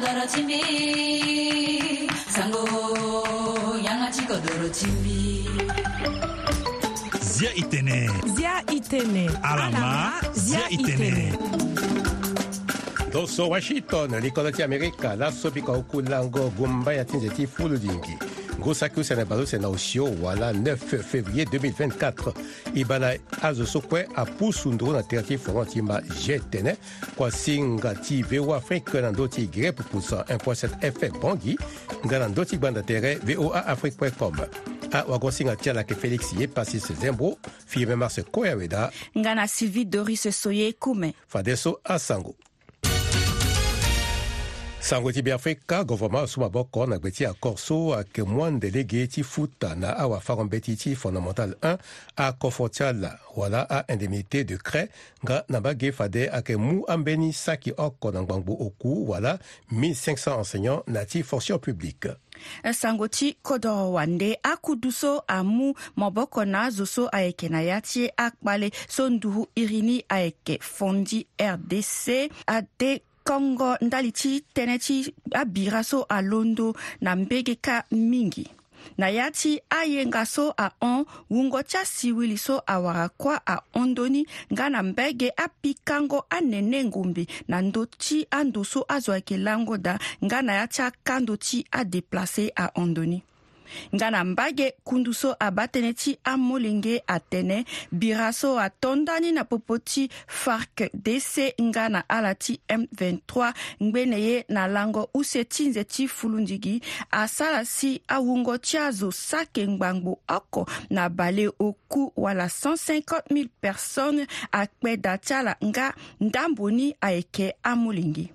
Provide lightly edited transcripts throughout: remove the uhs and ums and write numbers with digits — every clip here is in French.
따라 침비 상고 양아치 거도로 침비 Zia Itene Alama Zia Itene Doso Washington likola ti Amerika la sobika okulango gumba ya tinzeti fuludingi Gosaku Senebalo Senaosio wala 9 février 2024 ibala azosokwe a pusundro na terti forantima jetene kwa singa ti vewa Afrique nandoti grep pusa 1.7 FM bongi nganandoti banda tere VOA Afrique.com a wagosinga tiala ke Félix ye passis Zembro firme Mars Koyaweda ngana Sylvie Doris Soye Kume Fadeso Asango Sango ti Afrika gouvernement suma boko na gbeti a Corso a ke moine délégué ti futa na awa farombeti ti fondamental 1 a kofotiala wala a indemnité de craie nga na bagé fade a ke mu ambeni saki oko na gbangbo oku wala 1500 enseignants na ti fonction publique. Sangoti kodoro wande akuduso amu moboko na zoso aeke na yati akbale sonduhu irini aeke fondi RDC ade Kongo ndaliti teneti abiraso a londo na mbegeka mingi. Na yati ayengaso a on wungocha siwiliso a warakwa a ondoni ngana mbege a pikango a nene ngumbi na ndoti a ndoso a zoake lango da ngana yati a kandoti a deplase a ondoni. Ngana mbage kunduso abateneti amolenge atene biraso atondani na popoti FARC DC ngana alati M23 ngbeneye na lango usetinze ti fulundigi asala si awungo tiazo sake ngbangbo oko na bale oku wala 150,000 personnes akpe datiala nga ndamboni aeke amolingi.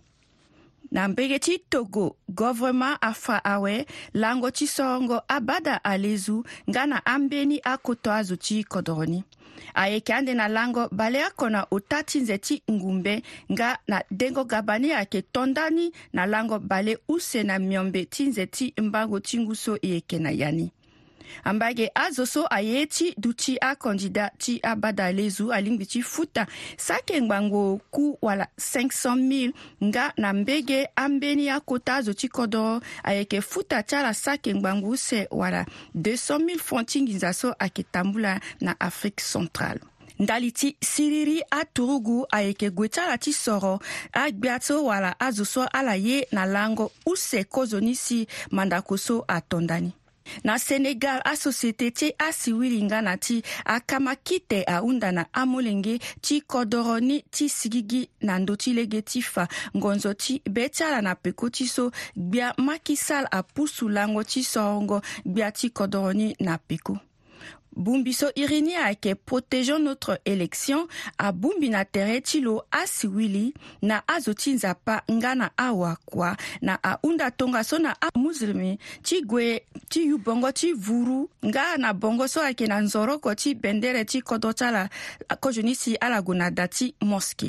Na mbegeti Togo, gouvernement afa awe, lango ti songo abada alezu, ngana ambeni akoto azuti kodoroni. Aeke ande na lango balea kona utati nzeti ngumbe, nga na dengo gabani ake tondani na lango bale use na miombe tinzeti mbango tinguso ieke na yani. Ambage azoso ayeti duti a kandida ti abada lezu alingbi ti futa sake ngbango ku wala 500,000 nga na mbege ambeni a kota azo ti kodo ayeke futa tiala sake ngbango se wala 200,000 francs ngizaso ake tambula na Afrique centrale. Ndaliti siriri a turugu ayeke gwetala ti soro a gbiato wala azoso ala ye na lango use kozonisi mandakoso a tondani. Na Senegal a société ti a siwili ngana ti a kamakite a unda na amolenge ti kodoroni ti sigigi na ndoti lege ti fa ngonzo ti betiala na peko ti so gbia makisal a pusu lango ti sorongo gbia ti kodoroni na peko. Bumbiso irini ake protégeons notre élection a bumbi na tere tilo a siwili na azoti nzapa ngana awa kwa na a unda tonga so na a muslimi ti gwe ti yubongo ti vuru nga na bongo so ake na nzoroko ti bendere ti kodotala kojonisi ala guna dati moske.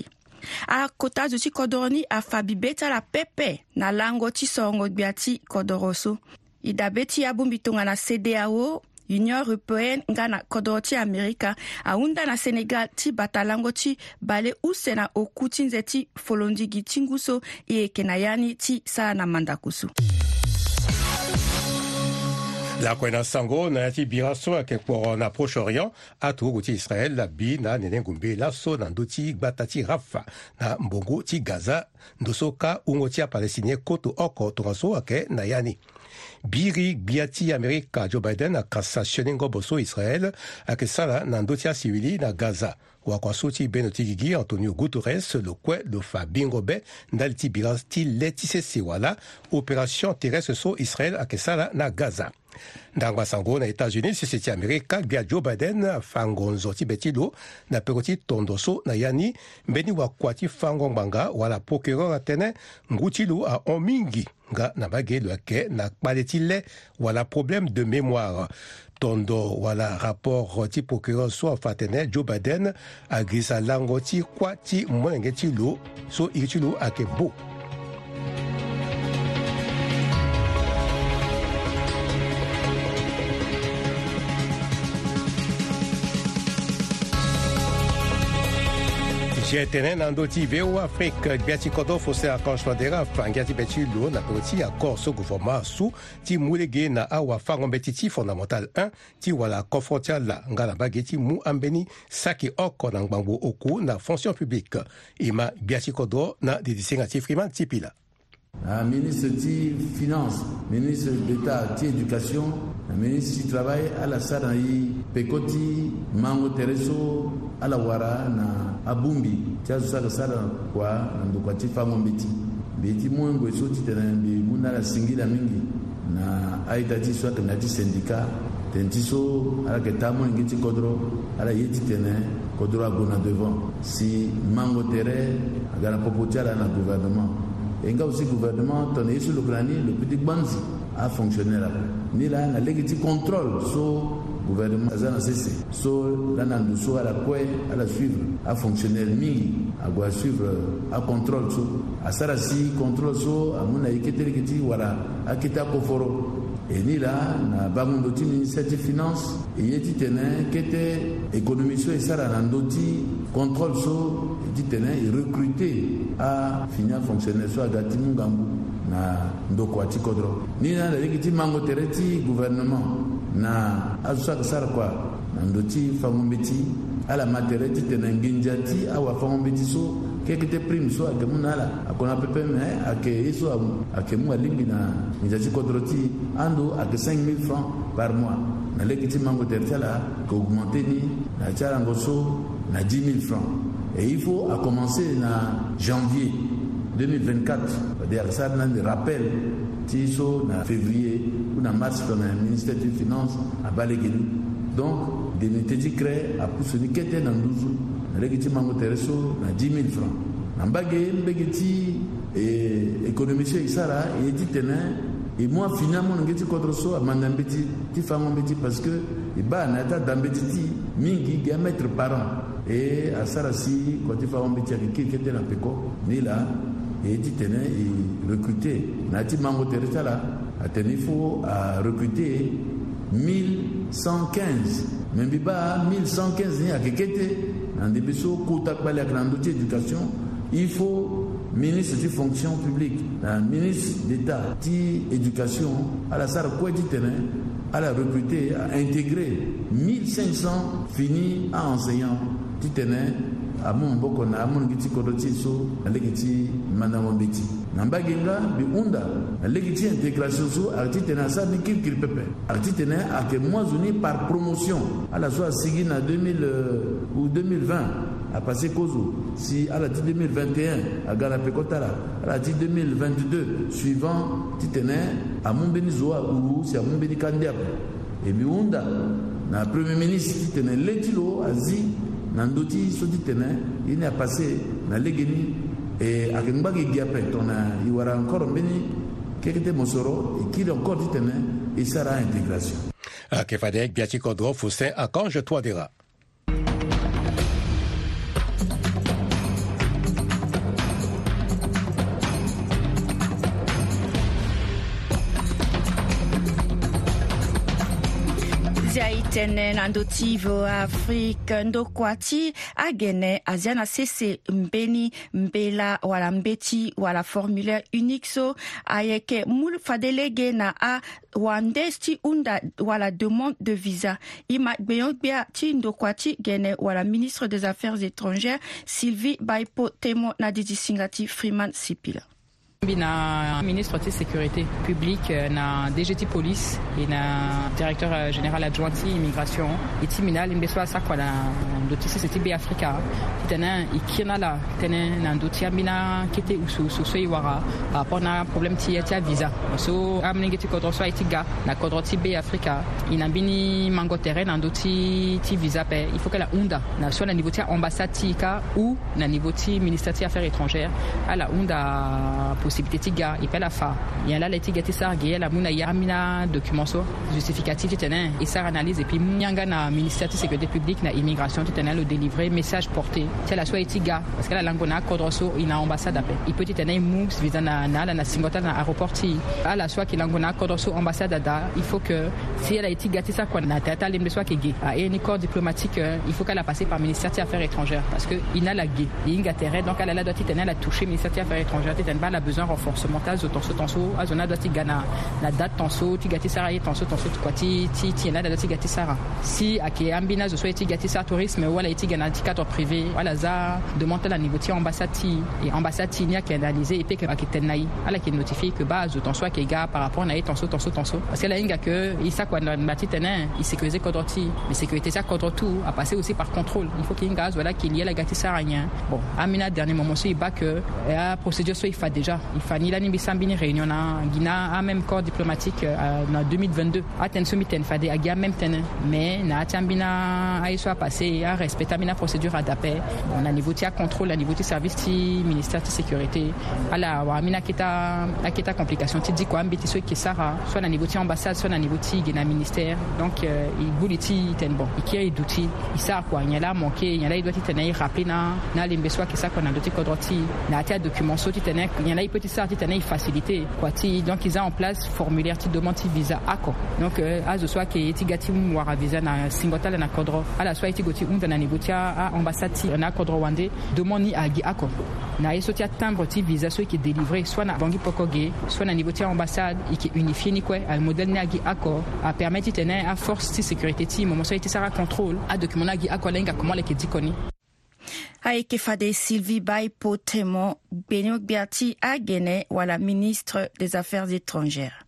A kota zo ti kodoroni a fabibeta la pepe na lango ti songo gbia ti kodoroso. Idabe ti a bumbi tonga na CEDEAO Union Européenne ngana kodoti Amerika aunda na Senegal ti batalango ti bale usena okuti nzeti folondigi tinguso e kenayani ti sa na mandakusu. La kwena sango na yati biraso ake kwa na Proche-Orient a turugu ti Israel la bi na nenengumbe la so na ndoti gbatati Rafa na mbongo ti Gaza ndoso ka ungo ti a Palestinien koto oko tongaso ake na yani. Biri biati Amerika Joe Biden a cassatione ngoboso Israel ake sala na ndoti a siwili na Gaza. Wakwasuti Benotigigi Antonio Guterres le kwe le Fabingo Be ndaliti birasti letise sewala opération terrestre so Israel akesala na Gaza. Ndangwa sango na États-Unis sisiti Amerika bia Joe Biden fangonzo ti betilo na pekoti tondoso na yani mbeni wakwati fango mbanga wala procureur atene ngutilu a omingi nga na bagelo ake na kpaletile wala problème de mémoire. Tondo wala rapport ti procureur so fatene Joe Biden agrisa lango ti kwa ti mwenge ti lo so iri lo ake bo. Jetenen andoti veo Afrique biati kodo fose akanshwa dera fangati beti lo na poti accord so gouvernement sou ti mulege na awa fango betiti fondamental 1 ti wala confrontia la ngala bageti mu ambeni saki oko na ngbango oku na fonction publique ima biati kodo na didisinga ti Freeman tipila. Ministre de Finances, ministre d'État de l'Éducation, ministre du Travail, à la Saraï, Pekoti, Mango Tereso, à la Wara, na Abumbi, Tiazusa la Sara, quoi, Nandokwati Fango Beti. Beti Mwengo, Soti, Muna la Singila Mingi, na Aitati, soit Nati syndicat, Tentiso, à la Ketamo, Ngiti Kodro, à la Yeti Tene, Kodro Agona devant. Si Mango Tere, à la Popotia, à la gouvernement. Et aussi le gouvernement, tonné sur le granier, le petit Banzi a fonctionné là. Ni là, la légitime contrôle sur le gouvernement, ça n'a cessé. Sur la Nandouso, à la Koué, à la suivre, à fonctionner mi, à suivre, à contrôle sur, à Sarasi, contrôle sur, à Mounaïkete, voilà, à Kita Koforo. Et ni là, na Bamundoti, ministère des Finances, et Yeti Tene, qui était économie sur et Saranandoti, contrôle sur, Yeti Tene, et recruté à finir fonctionnaire sur Agati Mungambu, na Ndokwati Kodro. Ni là, la légitime Mango Tereti, gouvernement, na Azusa Sarkwa, Nandoti Famombeti, à la Matereti Tene Nginjati, à Wafamombeti so, kekete prime so ake munala akona pepe me ake iso ake mu alimbi na njaji kodroti ando ake 5 000 francs par mois na lekiti mango tertiala ko augmenter ni na tchala ngoso na 10 000 francs et il faut à commencer na janvier 2024 c'est-à-dire ça na des rappels tiso na février ou na mars dans le ministère des Finances à Balegelu donc des métiers créés à Poussoni kete na Nduzu Regiti Mango Tereso na 10 000 francs. Nambage mbegeti économisé Isara et dit tenin et moi finalement ngeti kodroso amandambeti ti fango mbeti parce que e ba na ta dambeti mingi diamètre par an et à Sarasi quand il fango mbeti qui était na peko ni là et dit tenin et recruter na ti Mango Tereso là a tenifo à recruter 1115 même biba 1115 ni a kekete en début de l'éducation, il faut ministre de fonction publique, ministre d'État de l'éducation, à la salle quoi dit à la recruter, à intégrer 1500 finis à enseignants qui tenaient à mon bokona, à mon giti kodotiso, à l'égiti manamambeti. Nambagenga, bi unda, à l'égiti intégration so, à titena sa ni kil pepe. À titena à que moi uni par promotion, à la soit sigine à 2000 ou 2020, à passer Kozo, si à la 2021, à Garapekotala, à la 2022, suivant titena, à mon benizoa ou si à mon benikandiap. Et bi unda, na premier ministre titena letilo, azi, Nandoti soti tene il a passé na legeni et à Kembagi Giapet on a il y aura encore mbeni kekete mosoro et qui encore dit tene et sera intégration. Kefadek Biati Kodro Foussin à Kange Toadera. Zaitene nandotivo Afrique ndokwati agene aziana sese mbeni mbela wala mbeti wala formulaire unique so ayeke mul fadelege na a wandesti unda wala demande de visa ima beyongbia ti ndokwati gene wala ministre des Affaires étrangères Sylvie Baipo Temo na didisingati Freeman Sipila. Na ministre de sécurité publique na DGT police et na directeur général adjoint immigration et timinal imbeso sa kwa na ndotisi c'était B Africa tena ikina la tena na ndotia mina kete usu so iwara par rapport na problème ti visa so amningeti kodro so itiga na kodro ti B Africa inabini mango terrain na ndoti ti visa pe il faut que la unda na soit na niveau ti ambassade tika ou na niveau ti ministère des Affaires étrangères à la unda possibilité tiga et pas la fa il y a là les tiga tisargue la muna yamina document so justificatif tenen et ça analyse et puis nyanga na ministère de sécurité publique na immigration le délivrer message porté c'est la soit etiga parce que la langue na kodroso ina ambassade ape il peut tenir moves visa na singota na aéroport à la soit qui langue na kodroso ambassade da il faut que si elle a etiga ça quoi na tata lembe soit qui et un corps diplomatique il faut qu'elle a passé par ministère des affaires étrangères parce que ina la gué il intérêt donc elle a doit tenir la toucher ministère des affaires étrangères tenir pas la besoin renforcement tas tonso azona doit gana la date tonso tu gati sara tonso quoi ti na doit gati sara si ake ambina zo soit gati sa tourisme wala eti gana cadre privé wala za demande la niveau ti ambassade et ambassade ni qui analysé et puis que akitenai ala qui notifie que base ton soit qui gars par rapport na tonso parce que la inga que il ça quoi na matitene il sécurisé kodroti mais sécurité ça contre tout a passé aussi par contrôle il faut qu'il y ait une gaz voilà qu'il y ait la gati saragna bon amina dernier moment aussi il bat que la procédure soit il fait déjà il fait ni la ni bisambini réunion na Guina a même corps diplomatique en 2022 aten somiten fait des agia même tenen mais na tiambina a soit passé à respecter la procédure à d'appel on a niveau de contrôle à niveau du service du ministère de sécurité à la amina kita complication tu dis quoi ambiti soit qui sara soit à niveau de ambassade soit à niveau de Guina ministère donc il bouliti ten bon il qui est d'outils il sert quoi il y a là manqué il y a là il doit tenir rappeler na limbe soit qui ça qu'on a doté kodroti na tia document so tenir il y a là il peut ça tenir facilité quoi donc ils ont en place formulaire ti demande visa accord donc à ce soit qui tigati wara visa na singota na kodro à la soit tigoti na niveau à ambassade na kodro wande demande ni agi accord na esotia timbre ti visa soit qui est délivré soit na bangi pokoge soit na niveau ti ambassade et qui unifié ni quoi al modèle ni agi accord a permettre tenir à force de sécurité ti moment soit ça contrôle à document na agi accord lenga comment les qui dikoni Aike fade Sylvie Bay Potemo Benyok Biati Agene wala ministre des Affaires étrangères.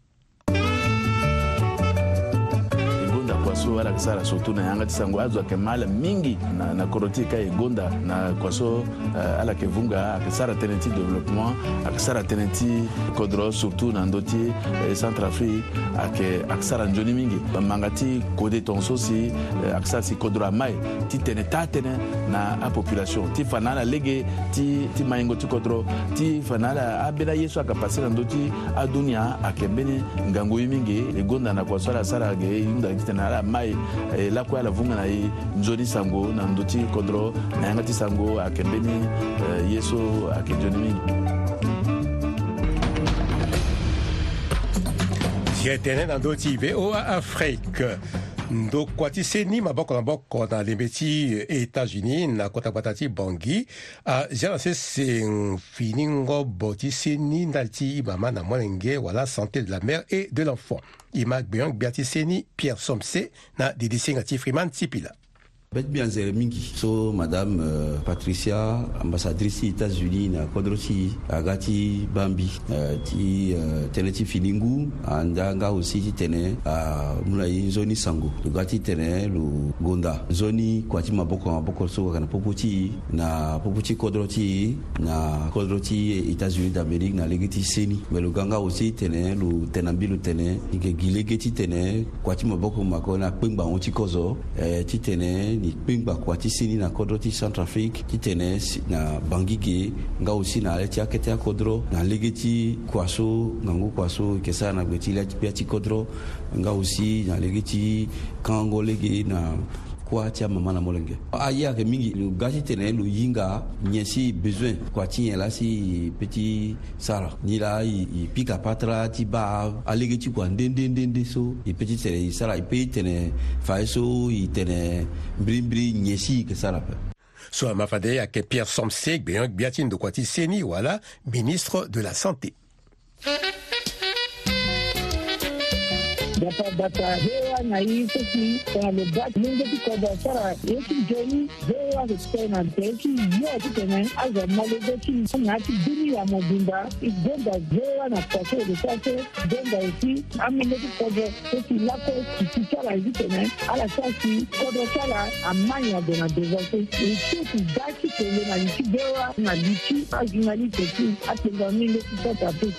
Kwaso wala kisara surtout na yanga tisango azo kemala mingi na korotika egonda na kwaso ala kevunga akisara tenenti développement akisara tenenti kodro surtout na ndoti Centrafrique akisara njoni mingi mangati kode tonso si akisara si kodro mai ti tenetane na a population ti fanala lege ti maingo ti kodro ti fanala abela yeso akapasira na ndoti adunia akembeni ngango mingi egonda na kwaso ala sara ge inda na mai la kwa la vunga na njoni sango na ndoti kodro na yangati sango akembeni yeso akenjoni mingi Jetene na ndoti VOA Afrique ndo kwati seni maboko na boko na lemeti États-Unis na kota batati Bangui a jana se finingo boti seni ndalti mama na molenge wala santé de la mère et de l'enfant Imak Benyok Biati Seni Pierre Somse na DDC ngati Freeman Tipila Bet bien mingi so madame Patricia ambassadrice États-Unis na kodrosi agati Bambi ti teneti finingu andanga aussi ti tene mulai zoni sango gati tene lu gonda zoni kwati maboko so kana poputi kodroti na kodroti États-Unis d'Amérique na legiti seni melu ganga aussi tene lu tenambilu tene ike gilegeti tene kwati maboko makona pengba onti kozo ti tene ni pingba kwati sini na kodro ti Centrafrique ti tene na Bangui nga aussi na leti akete kodro na legeti kwaso ngangu kwaso kesa na beti leti piati kodro nga aussi na legeti kango lege na kwa tia mama na molenge aya ke mingi lu gati tene lu yinga nyesi besoin kwa ti la si petit sara ni la i pika patra ti ba alege ti kwa ndende so i petit tene sara i pe tene fa so i tene brimbri nyesi ke sara pe so mafade ya ke Pierre Somse Benyok Biati ndo kwati seni wala ministre de la santé data hewa na hii sisi kwa lobak mungu kwa sara yeki jeni hewa kutena teki yote tena aza malogoti ngati dini ya mobimba igonda hewa na kwa de sase gonga isi amene kwa sisi lako kisara hivi tena ala sasi kwa sara amanya dona dezote isi daki tele na isi hewa na lichi ajinali teki atenga mingi kwa tapu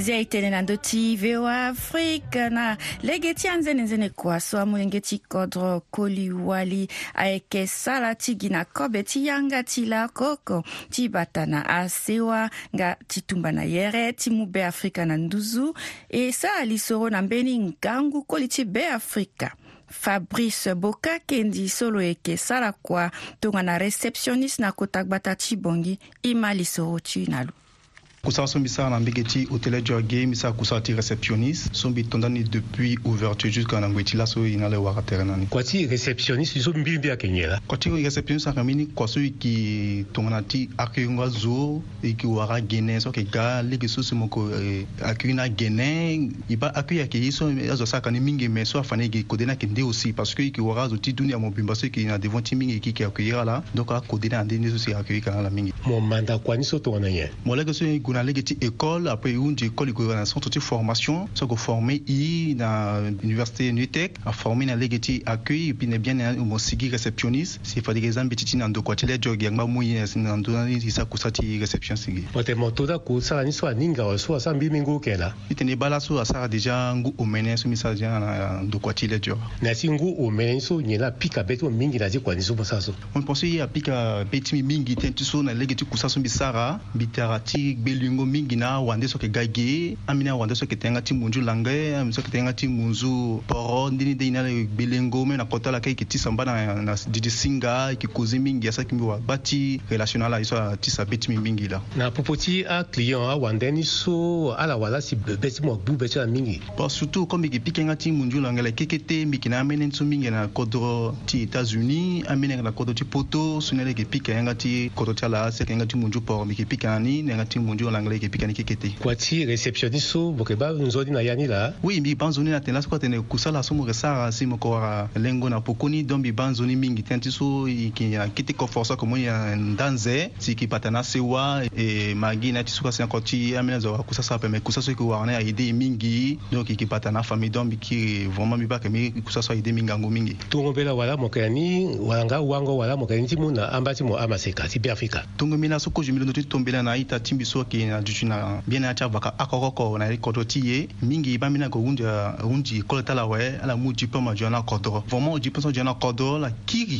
Ziaitene nandoti VOA Afrique na legeti anzene kwa so amulengeti kodro koliwali aeke sala tigina kobeti yanga tila koko tibatana asewa nga titumbana yere timube Afrika na nduzu e sa alisoro na mbeni ngangu koliti be Afrika. Fabrice Boka kendi solo eke sala kwa tonga na receptioniste na kotagbata chibongi imali soro chinalu. Kusa sombi sa na mbegeti hôtel Jorge misa kusa ti réceptionniste sombi tondani depuis ouverture jusqu'à ngweti la so ina le wara terenani kwati réceptionniste so mbimbi akenyela kwati réceptionniste akamini kwaso ki tongana ti akuyunga zo ki wara gene so ke ga legi so moko akuyina gene iba akuya ke iso azo saka ni mingi mais so afane ki kodena ke ndi aussi parce que ki wara zo ti dunia mo bimba so ki na devant ti mingi ki akuyira la donc a kodena ndi so si akuyika la mingi mon mandat kwani so tongana ye mo legi so kuna legi école après une école de centre de formation so ko formé na université Nutec a formé na legi accueil et puis ne bien mo sigi réceptionniste c'est fa des exemples petit na ndo kwatele jogi ngba muyi na ndo na isa kusati réception sigi ote motoda ku sala ni so aninga so asambi mingu kela itene bala so asara déjà ngu omene so message na ndo kwatele jogi na singu omene so nyela pika beto mingi na kwa ni so bosaso on pense ya pika beti mingi tentu so na legi kusaso bisara bitarati belingo mingi na wande so ke gage amina wande so ke tenga ti munju langue amina so ke tenga ti munju poro ndini de ina belengo me na kotala kai ke ti samba na didi singa ki kozi mingi asa ki wa bati relationnel iso ti sa beti mingi la na popoti a client a wande ni so ala wala si beti mo bu beti mingi pas surtout comme ki pikenga ti munju langue la kekete mikina amene so mingi na kodro ti États-Unis amene na kodro ti poto sunele ke pikenga ti kodro ti ala se kenga ti munju poro mi ke pikani na ti munju langue pikani kekete kwati réceptionniste so bokeba nzodi na yani la oui mi banzoni na telas ko tene kusala so mo resara si mo ko lengo na pokoni dombi banzoni mingi tenti so ki ya kiti ko força ko mo ya ndanze si ki patana sewa e magi na tisuka se koti amena zo kusasa pe me kusasa ko wana ide mingi donc ki patana famille dombi ki vraiment mi ba ke mi kusasa ide mingango mingi tungobela wala mo kani wanga wango wala mo kani timuna ambati mo amaseka ti Afrika tungomina so ko jumilo to tombela na ita timbiso ki na na bien acha vaka akoko na kodotiye mingi ba mina ko unji koleta la we ala muji pa ma jona kodo vraiment uji penso jona kodo la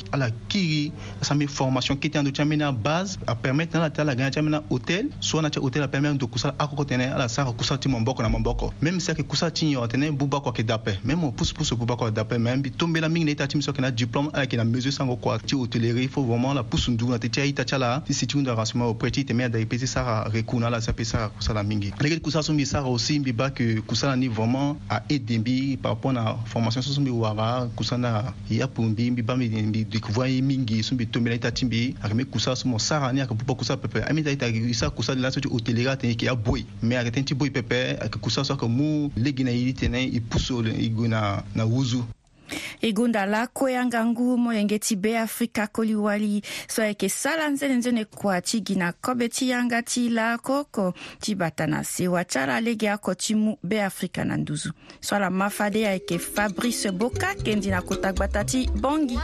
kiri ça met formation qui était en chamina base à permettre na la gana chamina hôtel soit na hôtel a permettre de kusala akoko tene ala sara kusati momboko na momboko même si que kusati yo tene buba ko ke dape même on pousse buba ko dape même bi tombela mingi na ita timso ke na diplôme avec na mesure sango quoi ti hôtellerie il faut vraiment la pousse ndu na te ita chala si tu nda rasma au petit te mer da ipesi sara rekuna la ça ça kusala mingi les kusala so mi sara aussi mi ba que kusala ni vraiment a aider par rapport à formation so mi wara kusana ya pumbi mi ba mi découvrir mingi so mi tombela ita timbi akame kusala so mo sara ni akapupa kusala pepe ami da ita isa kusala la so hôtellerie te ki ya boy mais arrêter ti boy pepe ak kusala so ko mu legina yi tene i puso iguna na wuzu Igunda la koyanga ngumo yengeti be Afrika koliwali so eke sala nzene kwa chigina kobeti yanga tila koko chibatana sewa chara lege ako chimu be Afrika na nduzu so la mafade ya eke Fabrice Boka kendi na kotagbata bongi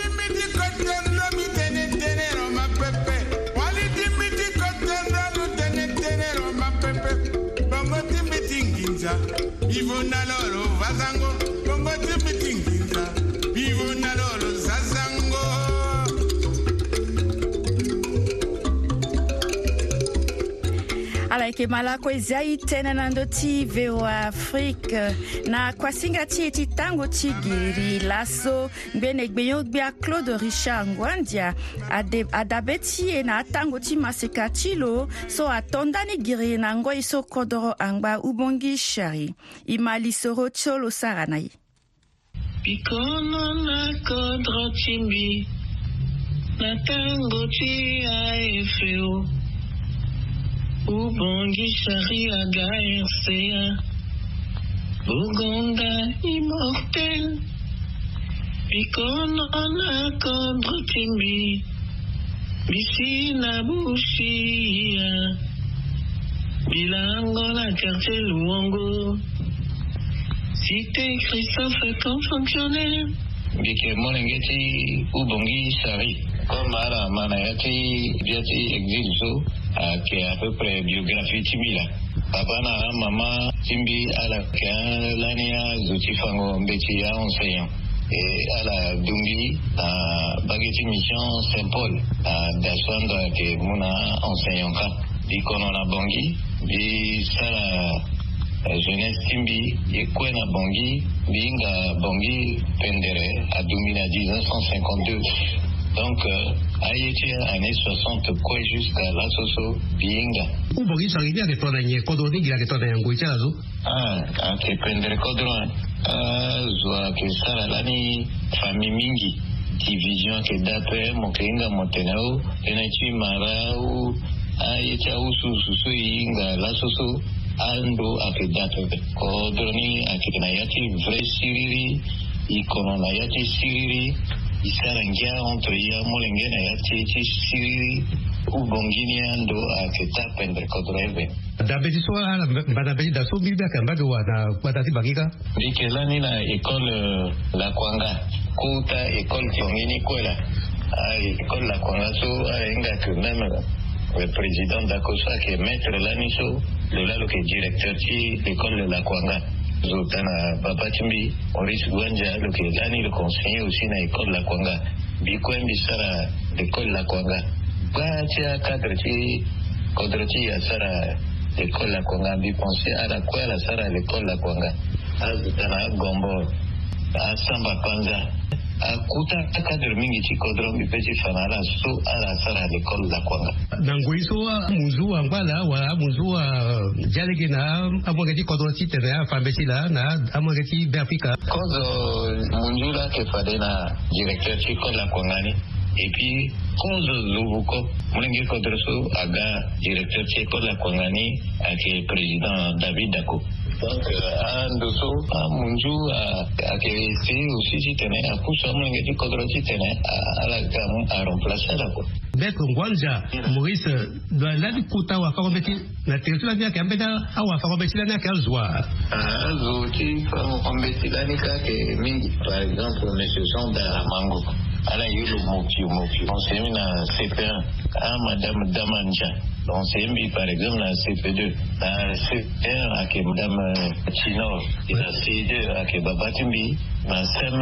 Ivona lolo vazango bongo timitinginza ivona lolo zazango ala eke malako ezai tena na ndoti VOA Afrique na kwa singa ti tango tigiri laso ngene gbeyo gbia Claude Richard Ngwandia adabeti na tango ti maseka tilo so atondani giri na ngoi so kodoro angba ubongi shari imali soro cholo saranai Pikono na kodro timbi na tango ti AFO Ubongi Shari Aga RCA Buganda immortel Pikono na kodro timbi Bisi na bushia Bilango na quartier Luongo Cité Christophe comme fonctionnaire Bike Molengeti Ubongi Shari comme à la manayati biati exilso qui est à peu près biographie timila papa na maman timbi à la lania zutifango mbeti à enseignant et à la Dumbi à Bageti Mission Saint-Paul à Daswanda que muna enseignant di konona bongi di sala jeunesse timbi et kwena bongi binga bongi pendere à Dumbi na 1952 donc ayeti année 60 quoi jusqu'à la soso binga bongi saribia que tonanye kodoni gira que tonanye ngoicha zo que pendere kodron zwa ke sala lani famille mingi division ke dape mokenga motenao enachi marau ayecha usu inga la soso ando ake dape kodroni ake na yati vrai siriri ikono na yati siriri isarangia entre ya molenge na yati siriri ubongini ando ake tapendre kodreve dabeti so ala badabeti daso bilbia kambado wana kwatati bagika dikelani na école la kwanga kuta école tongini kwela école la kwanga so inga que même le président d'Akosa qui est maître laniso le lalo qui est directeur de l'école de la kwanga zotana papa timbi Maurice Gwanja le qui est lani le conseiller aussi na école la kwanga bikwembi sara l'école la kwanga bacha cadre ti kodroti ya sara l'école la kwanga bi penser à la quoi la sara l'école la kwanga azutana gombo asamba panza akuta cadre mingi ti kodro bi pesi fanala so ala sara l'école la kwanga nangoiso muzu angwala wa muzu jalege na amogeti kodroti tena fambesi la na amogeti d'Afrique kozo munjula ke fadena directeur ti école la kwangani et puis kozo lubuko mulenge kodroso aga directeur ti école la kwangani ake président David Dako donc andoso munju ake esi aussi si tene akusa mulenge ti kodrosi tene ala gamu a remplacer la ko Maître Gwanja Maurice la kuta wa fakombeti na territoire via kambeta awa fakombeti la na zwa zo ti fakombeti la ni ka ke mingi par exemple monsieur Sonda Mango ala yulo moki on s'est mis na CP1 à madame Damanja on s'est mis par exemple na CP2 na CP1 avec madame Chino et na C2 avec Baba Timbi na SEM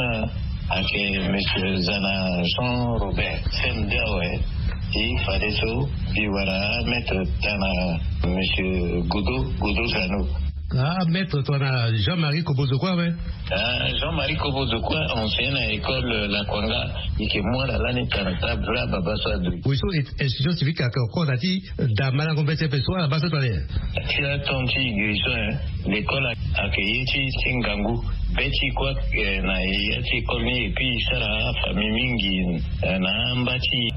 avec monsieur Zana Jean Robert SEM ouais il fallait ça puis voilà mettre tana monsieur Goudou Zano maître toi na Jean-Marie Kobozokwa ouais Jean-Marie Kobozokwa enseigne à l'école la Kwanga et que moi la l'année kanata bra baba so adu oui so institution civique à ko dati da mala compétence pessoa basa toi tu as ton petit l'école a accueilli Singangu beti kwa na yati école ni et puis sara famille mingi na mbati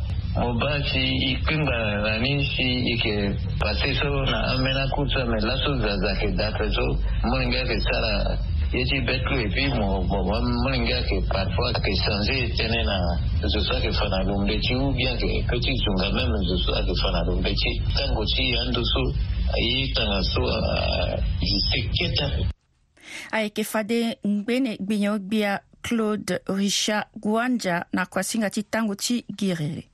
mobati ikinga ranisi ike paseso na amena kutsa melaso zazake datezo moninga ke sara yeti betlu et puis moninga ke parfois ke changer tenena ce soit que fana lumbeti ou bien que petit zunga même ce soit que fana lumbeti tango ti andoso ayi tangaso seketa ayeke fade ngbene gbinyo gbia Claude Richard Gwanja na kwasinga ti tango ti girere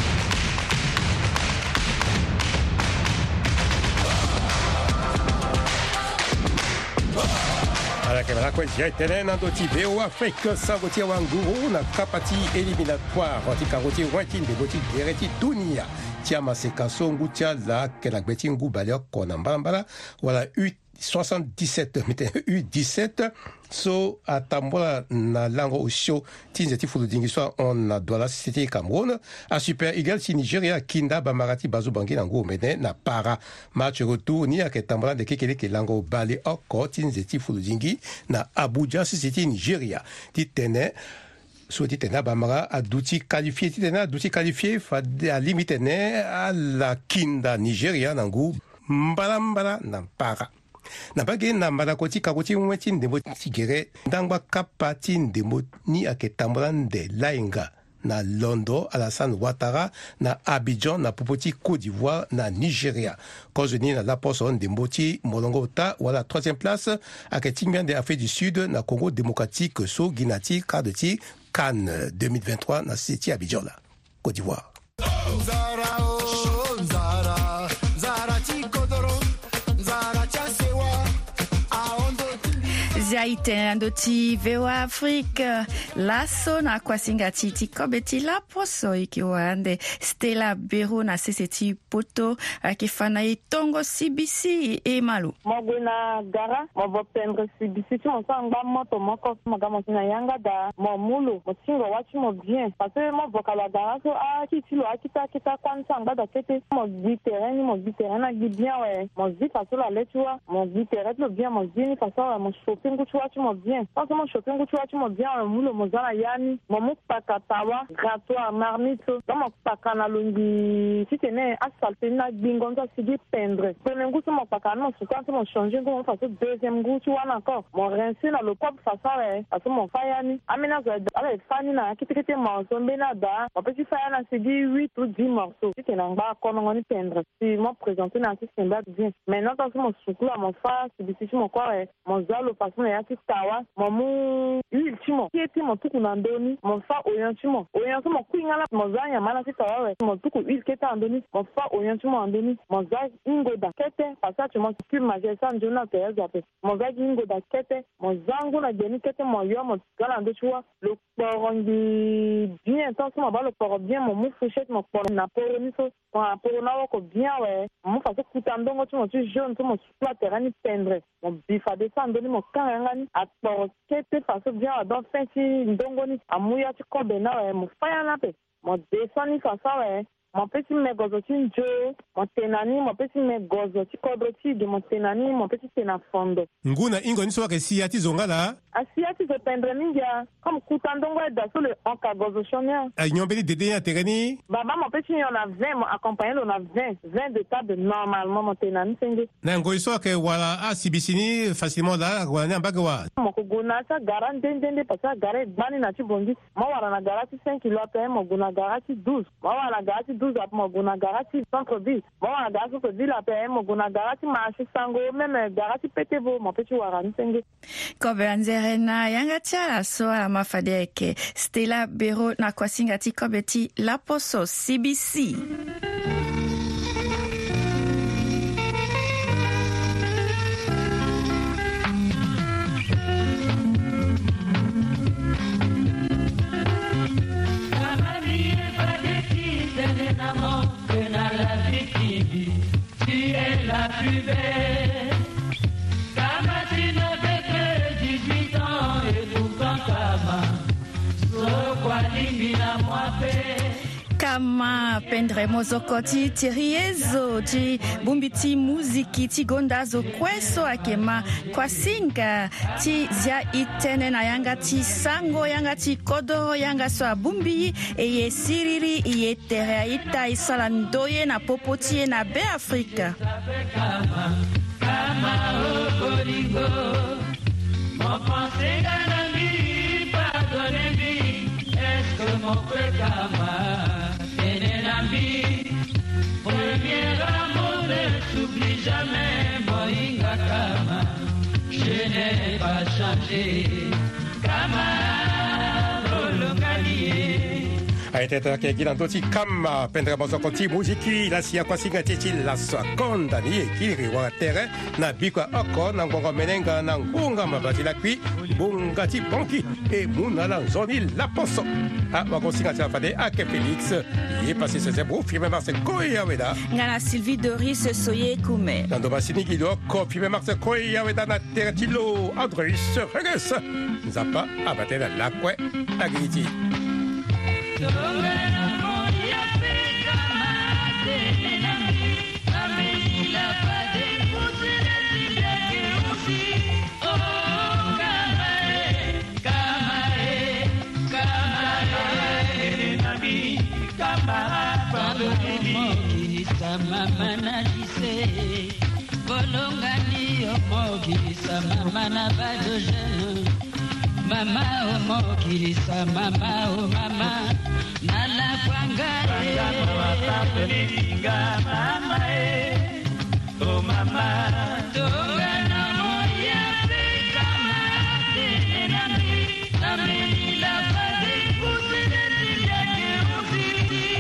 ala ke rakwenzia e tene na ndö ti VOA Afrique sango ti awanguru na kapa ti éliminatoire ti karo ti roi ti ndembo ti gere ti dunia ti amaseka so ngu ti ala ayeke na gbe ti ngu bale oko na mbalambala wala U77 U17 so atambola na lango osio ti nze ti fuludingi so ona douala si ti Cameroun a Super Eagles ti Nigeria kinda bamara ti bazo bangi na ngu omene na para match retour ni ayeke tambola ndeke kele yeke lango bale oko ti nze ti fuludingi na Abuja si ti Nigeria ti tene so ti tene abamara aduti qualifié fade alimi tene ala kinda Nigeria na ngu mbalambala na para na bage na mbala koti kakoti mwe ti ndembo ti gere ndangba kapa ti ndembo ni ayeke tambola nde laenga na Londo Alassane Ouattara na Abidjan na popo ti Côte d'Ivoire na Nigeria cause ni na laposo ndembo ti molongo ta wala 3e place ayeke ti ngbia nde Afrique du Sud na Congo démocratique so gi na ti cadre ti CAN 2023 na si ti Abidjan la Côte d'Ivoire. Zaite ndoti vewa Afrika laso na kwasinga titi kobeti la poso ikiwande Stella Bero na seseti poto akifana itongo CBC e malu moguna gara mo pendre CBC tu on sanga moto moko magamo na yanga da mo mulu mo singo wachi mo bien parce que mo vokala gara so a kitilo akita kwanza ngada kete mo biteren na bien ouais mo zi parce la letua mo biteren le bien mo zi ni parce mo shopping tu vois tu m'as bien parce que mon shopping tu vois tu m'as bien mulo mozana yani mo pakatawa grattoir marmite dans mon pakana longi si tene asphalte na bingonza sidi pendre premier goût mon pakana so quand mon changer comment faire deuxième goût tu vois encore mon rincer dans le pop façon parce que mon fayani amena avec fani na kitikete morceau benada mon petit fayana sidi 8 ou 10 morceaux si tene ngba kono ni pendre si mon présenter na système bien maintenant dans mon soukou mon fa si mon corps mon zalo façon ya tawa mamu iltimo kieti mo tuku na ndoni mo fa oyantimo mo kuingala mo zanya mana sitawa we mo tuku ilketa ndoni mo fa oyantimo ndoni mo za ingoda kete pasache mo tu majesa njona te zape mo za ingoda kete mo zangu na deni kete mo yo mo gala ndo chua le porongi bien tant mo ba le poro bien mo mu fuchette mo poro na poro ni so kwa poro na ko bien we mo fa kutandongo tu mo tu jaune tu mo sur terrain pendre mo bifa descendre ni mo kangani atoro kete faso bien dans fenti ndongoni amuya ti kobe na we mo faya na pe mo descendre faso we mon petit mégozo ti njo mon tenani mon petit mégozo ti kodroti de mon tenani mon petit tenafondo nguna ingo ni so ke siya ti zongala asia ti pendre ninja comme kutandongo da so le onkagozo chonia nyombeli dede ya tereni baba mon petit on a 20 mon accompagné on a 20 de table normalement mon tenani senge na ngo so ke wala a sibisini facilement la ngwana mbagwa mo ko gona sa garan dende pasa gare bani na ti bongi mo wala na garati 5 kilo pe mo gona garati 12 mo wala garati 12 à Moguna Garati centre-ville. Bon, à Garati centre-ville à PM Moguna Garati marché sango même Garati Petevo mon petit warani senge. Kobe anzerena yangatia so amafadeke Stella Bero na kwasingati kobeti la poso CBC. La plus belle, Kama tu n'avais que 18 ans et pourtant Kama, so kwa limina mwape. Kama pendre mozokoti tiriezo ti bumbiti muziki ti gondazo kweso akema kwa singa ti zia itene na yanga ti sango yanga ti kodoro yanga so abumbi eye siriri eye tere ita isala ndoye na popoti na be Afrika Kama okolingo mon pensée ganambi pardonnez-moi est-ce que mon frère Kama premier amour ne s'oublie jamais, Moïnga Kama, je n'ai pas changé, Kama, Bolongalié. aiteta ke gilantoti kama pendre mozokoti muziki la sia kwasinga titi la seconda ni ekiri wa terre na bikwa oko na ngongo menenga na ngunga mabati la kwi bungati bonki e muna la zoni la poso a wakosinga tia fade ake Félix y est passé ce zebro firme Marcel Koya weda ngana Sylvie Doris soye kume nando basini gido ko firme Marcel Koya weda na terre tilo Andrus Reges nzapa abatela la kwe agiti Mama na lise bolongani omokilisa mama na badojeno mama omokilisa mama o mama nala kwangare mama o mama tongana moya kama tenami namela pade kusene yake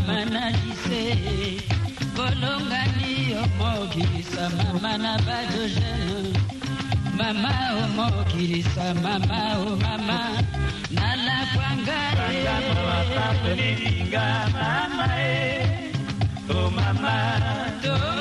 mama na lise bolongani omokilisa mama na badogene mama omokilisa mama o mama nala kwangare mama papa nilinga mama o mama